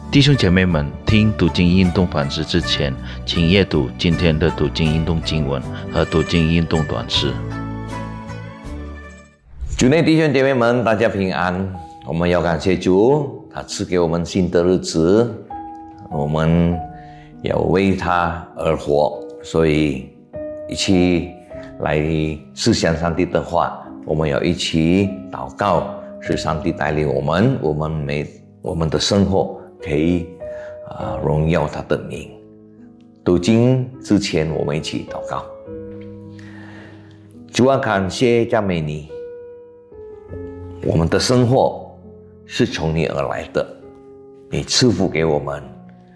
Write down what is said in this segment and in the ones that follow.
弟兄姐妹们，听读经运动反思之前，请阅读今天的读经运动经文和读经运动短诗。 主内弟兄姐妹们，大家平安。我们要感谢主，他赐给我们新的日子，我们要为他而活，所以一起来思想上帝的话，我们要一起祷告，使上帝带领我们的生活可以荣耀他的名。读经之前，我们一起祷告。主啊，感谢赞美你，我们的生活是从你而来的，你赐福给我们，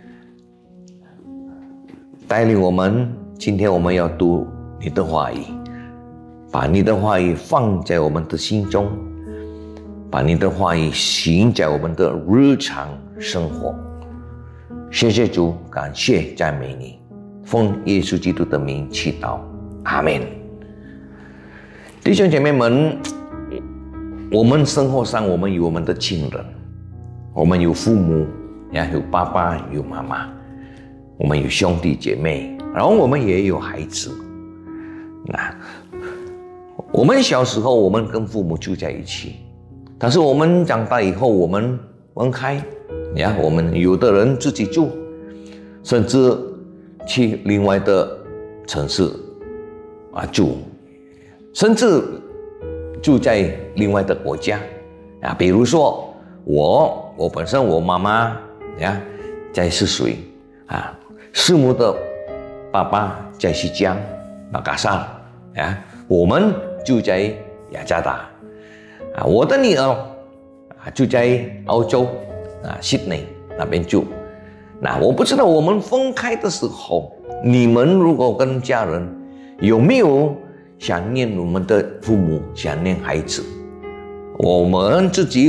带领我们。今天我们要读你的话语，把你的话语放在我们的心中，把你的话语行在我们的日常生活。谢谢主，感谢赞美你，奉耶稣基督的名祈祷，阿们。弟兄姐妹们，我们生活上我们有我们的亲人，我们有父母，有爸爸有妈妈，我们有兄弟姐妹，然后我们也有孩子。我们小时候我们跟父母住在一起，但是我们长大以后我们分开，我们有的人自己住，甚至去另外的城市住，甚至住在另外的国家比如说我本身我妈妈在泗水师母的爸爸在西江马嘎萨我们住在雅加达我的女儿住在澳洲悉尼那边住。我不知道我们分开的时候，你们如果跟家人有没有想念我们的父母，想念孩子？我自己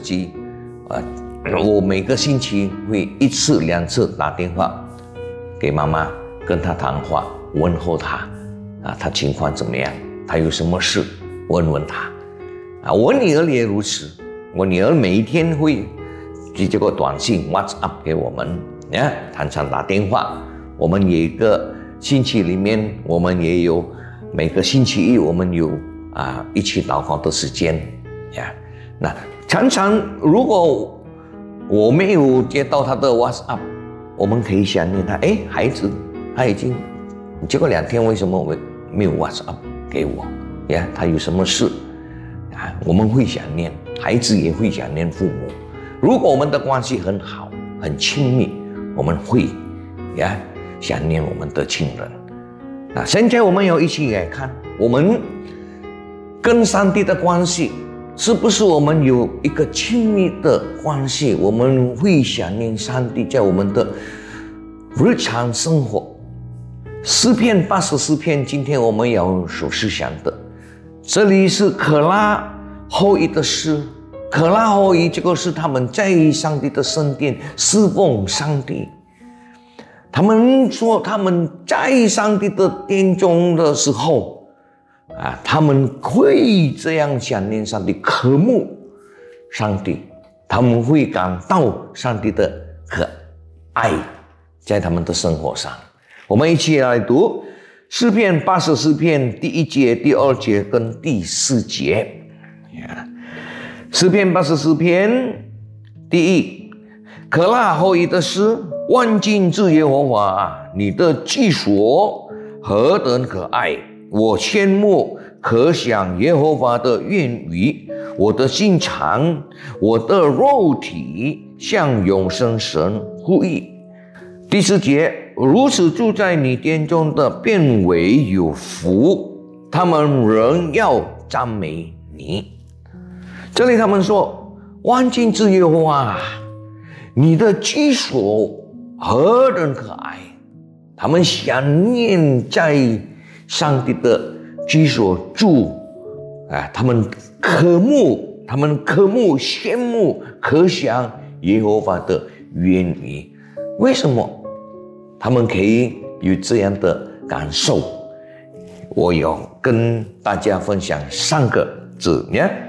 我每个星期会1次2次打电话给妈妈，跟她谈话，问候她她情况怎么样，她有什么事问问她我女儿也如此，我女儿每一天会寄这个短信 WhatsApp 给我们常常打电话。我们有一个星期里面，我们也有每个星期一我们有一起祷告的时间那常常如果我没有接到他的 WhatsApp， 我们可以想念他，孩子他已经结果2天为什么没有 WhatsApp 给我他有什么事我们会想念，孩子也会想念父母。如果我们的关系很好很亲密，我们会想念我们的亲人。现在我们要一起来看，我们跟上帝的关系是不是我们有一个亲密的关系，我们会想念上帝在我们的日常生活。诗篇84篇今天我们要所思想的，这里是可拉后裔的诗。可拉后裔这个是他们在上帝的圣殿侍奉上帝，他们说他们在上帝的殿中的时候他们会这样想念上帝，渴慕上帝，他们会感到上帝的可爱在他们的生活上。我们一起来读诗篇84篇第1节、第2节跟第4节。诗篇84篇第1，可拉后裔的诗。万军之耶和华，你的居所何等可爱！我羡慕可想耶和华的愿语，我的心肠，我的肉体向永生神呼吁。第4节，如此住在你殿中的便为有福，他们仍要赞美你。这里他们说，万军之耶和华，你的居所何等可爱！他们想念在上帝的居所住他们渴慕羡慕可想耶和华的愿语。为什么他们可以有这样的感受？我要跟大家分享3个字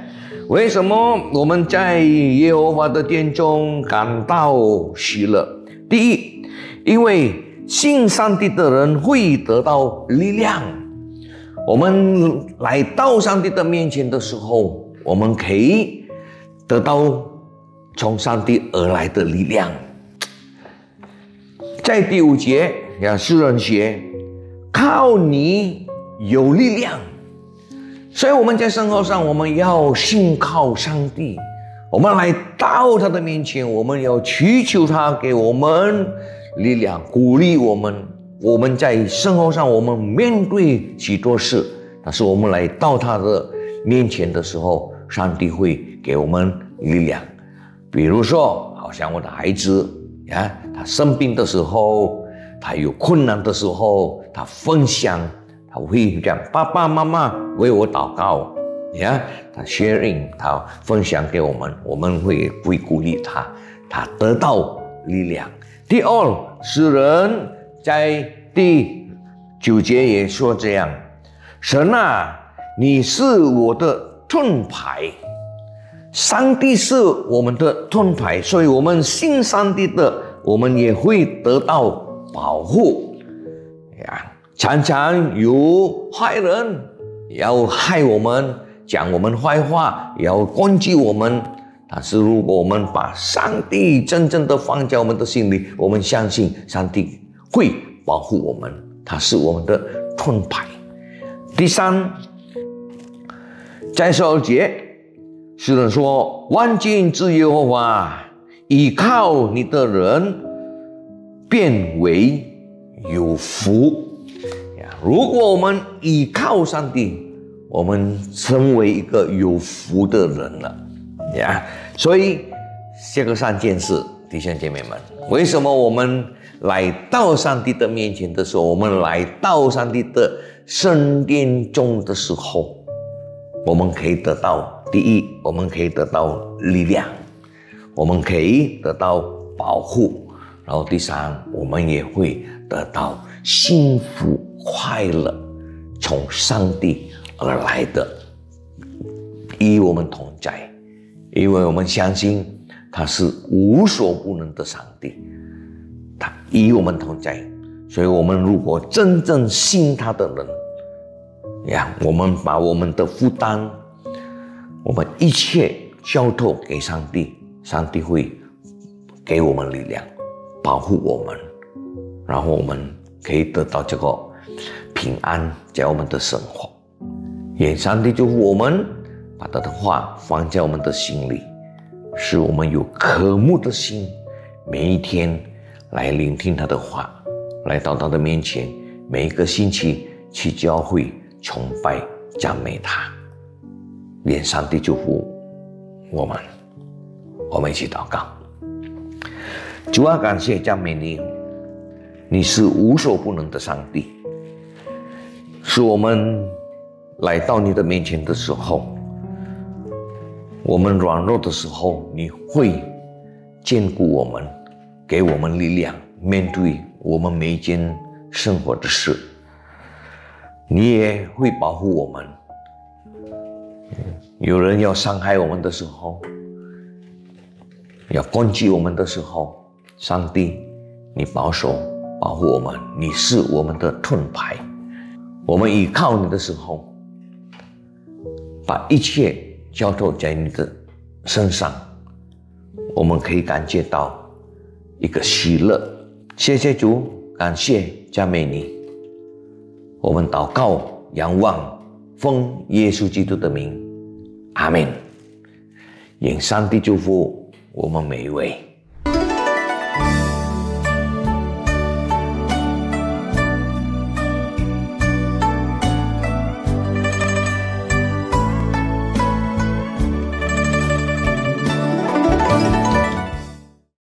为什么我们在耶和华的殿中感到喜乐？第一，因为信上帝的人会得到力量。我们来到上帝的面前的时候，我们可以得到从上帝而来的力量。在第5节，诗人写，靠你有力量。所以我们在生活上，我们要信靠上帝，我们来到他的面前，我们要祈求他给我们力量，鼓励我们。我们在生活上，我们面对许多事，但是我们来到他的面前的时候，上帝会给我们力量。比如说，好像我的孩子他生病的时候，他有困难的时候，他分享，他会讲爸爸妈妈为我祷告，他 sharing， 他分享给我们，我们会鼓励他，他得到力量。第二，诗人在第9节也说这样，神啊，你是我的盾牌。上帝是我们的盾牌，所以我们信上帝的，我们也会得到保护。常常有坏人要害我们，讲我们坏话，要攻击我们。但是如果我们把上帝真正的放在我们的心里，我们相信上帝会保护我们，他是我们的盾牌。第三，在12节，诗人说，万军之耶和华，依靠你的人变为有福。如果我们依靠上帝，我们成为一个有福的人了。所以这个3件事，弟兄姐妹们，为什么我们来到上帝的面前的时候，我们来到上帝的圣殿中的时候，我们可以得到，第一，我们可以得到力量，我们可以得到保护，然后第三，我们也会得到幸福快乐，从上帝而来的，与我们同在。因为我们相信他是无所不能的上帝，他与我们同在，所以我们如果真正信他的人，我们把我们的负担，我们一切交托给上帝，上帝会给我们力量，保护我们，然后我们可以得到这个平安在我们的生活。愿上帝祝福我们，把他的话放在我们的心里，使我们有渴慕的心，每一天来聆听他的话，来到他的面前，每一个星期去教会崇拜赞美他。愿上帝祝福我们，我们一起祷告。主啊，感谢赞美你，你是无所不能的上帝，是我们来到你的面前的时候，我们软弱的时候，你会坚固我们，给我们力量，面对我们每一件生活的事。你也会保护我们。有人要伤害我们的时候，要攻击我们的时候，上帝，你保守保护我们，你是我们的盾牌。我们依靠你的时候，把一切交托在你的身上，我们可以感觉到一个喜乐。谢谢主，感谢赞美你。我们祷告仰望，奉耶稣基督的名，阿们。愿上帝祝福我们每一位。